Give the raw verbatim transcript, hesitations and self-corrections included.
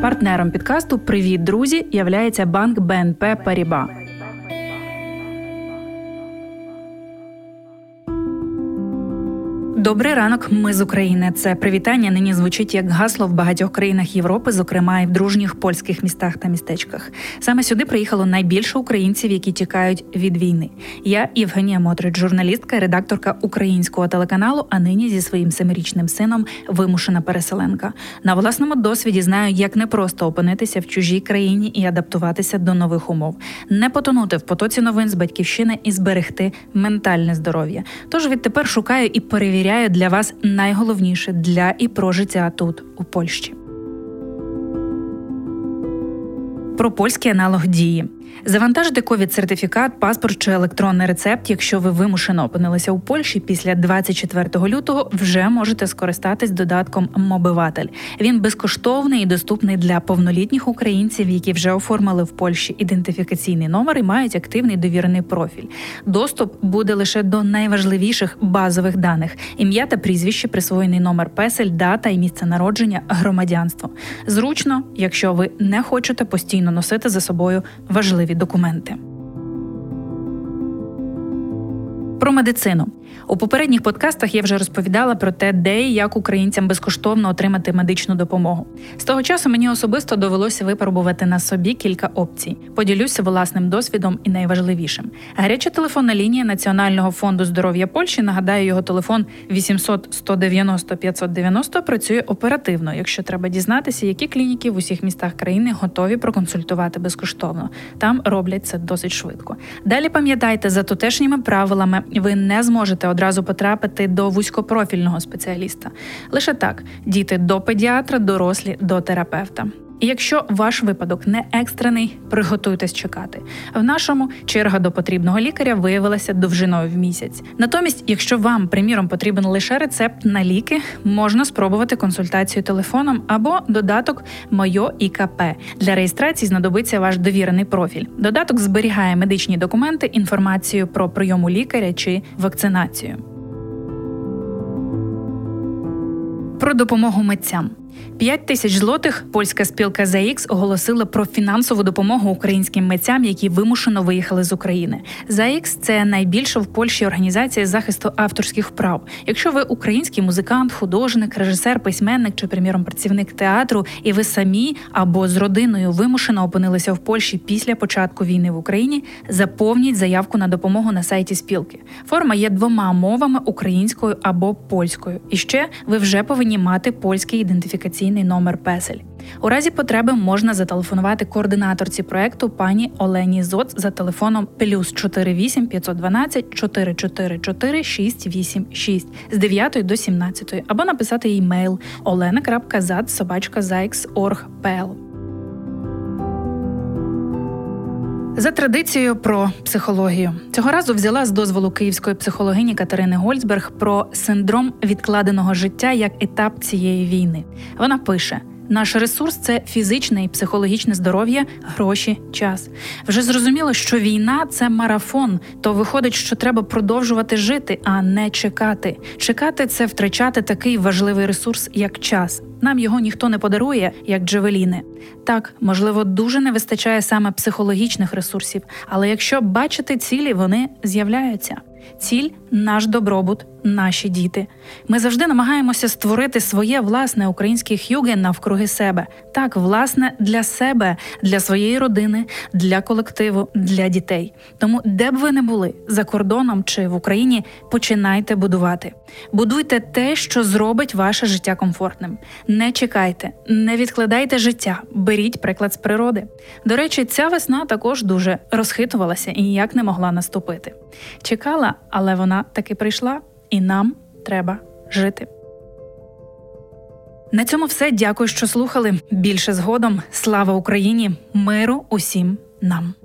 Партнером підкасту «Привіт, друзі» являється банк Бі Ен Пі Паріба. Добрий ранок, ми з України. Це привітання нині звучить як гасло в багатьох країнах Європи, зокрема і в дружніх польських містах та містечках. Саме сюди приїхало найбільше українців, які тікають від війни. Я Євгенія Мотрич, журналістка і редакторка українського телеканалу, а нині зі своїм семирічним сином вимушена переселенка. На власному досвіді знаю, як непросто опинитися в чужій країні і адаптуватися до нових умов. Не потонути в потоці новин з батьківщини і зберегти ментальне здоров'я. Тож відтепер шукаю і перевіряю для вас найголовніше для і про життя тут, у Польщі. Про польський аналог дії. Завантажити ковід-сертифікат, паспорт чи електронний рецепт, якщо ви вимушено опинилися у Польщі після двадцять четвертого лютого, вже можете скористатись додатком «Мобиватель». Він безкоштовний і доступний для повнолітніх українців, які вже оформили в Польщі ідентифікаційний номер і мають активний довірений профіль. Доступ буде лише до найважливіших базових даних – ім'я та прізвище, присвоєний номер песель, дата і місце народження, громадянство. Зручно, якщо ви не хочете постійно носити за собою важливі документи. Про медицину. У попередніх подкастах я вже розповідала про те, де і як українцям безкоштовно отримати медичну допомогу. З того часу мені особисто довелося випробувати на собі кілька опцій. Поділюся власним досвідом і найважливішим. Гаряча телефонна лінія Національного фонду здоров'я Польщі, нагадаю, його телефон вісімсот сто дев'яносто п'ятсот дев'яносто, працює оперативно, якщо треба дізнатися, які клініки в усіх містах країни готові проконсультувати безкоштовно. Там роблять це досить швидко. Далі пам'ятайте, за тутешніми правилами ви не зможете одразу потрапити до вузькопрофільного спеціаліста. Лише так – діти до педіатра, дорослі до терапевта. І якщо ваш випадок не екстрений, приготуйтесь чекати. В нашому черга до потрібного лікаря виявилася довжиною в місяць. Натомість, якщо вам, приміром, потрібен лише рецепт на ліки, можна спробувати консультацію телефоном або додаток «Моє І Ка Пе». Для реєстрації знадобиться ваш довірений профіль. Додаток зберігає медичні документи, інформацію про прийом у лікаря чи вакцинацію. Про допомогу митцям. П'ять тисяч злотих польська спілка Зет Ікс оголосила про фінансову допомогу українським митцям, які вимушено виїхали з України. Зет Ікс – це найбільша в Польщі організація захисту авторських прав. Якщо ви український музикант, художник, режисер, письменник чи, приміром, працівник театру, і ви самі або з родиною вимушено опинилися в Польщі після початку війни в Україні, заповніть заявку на допомогу на сайті спілки. Форма є двома мовами – українською або польською. І ще ви вже повинні мати польський ідентифікаційний номер песель. У разі потреби можна зателефонувати координаторці проекту пані Олені Зоц за телефоном плюс чотири вісім п'ятсот дванадцять чотири чотири чотири шість вісім шість з дев'ятої до сімнадцятої або написати їй мейл олена крапка зад собачка зайкс крапка орг крапка пе ел. За традицією про психологію. Цього разу взяла з дозволу київської психологині Катерини Гольцберг про синдром відкладеного життя як етап цієї війни. Вона пише: наш ресурс – це фізичне і психологічне здоров'я, гроші, час. Вже зрозуміло, що війна – це марафон, то виходить, що треба продовжувати жити, а не чекати. Чекати – це втрачати такий важливий ресурс, як час. Нам його ніхто не подарує, як джавеліни. Так, можливо, дуже не вистачає саме психологічних ресурсів, але якщо бачити цілі, вони з'являються. Ціль – наш добробут, наші діти. Ми завжди намагаємося створити своє власне українське хюге навкруги себе. Так, власне, для себе, для своєї родини, для колективу, для дітей. Тому, де б ви не були, за кордоном чи в Україні, починайте будувати. Будуйте те, що зробить ваше життя комфортним. Не чекайте, не відкладайте життя, беріть приклад з природи. До речі, ця весна також дуже розхитувалася і ніяк не могла наступити. Чекала, але вона таки прийшла, і нам треба жити. На цьому все. Дякую, що слухали. Більше згодом. Слава Україні! Миру усім нам!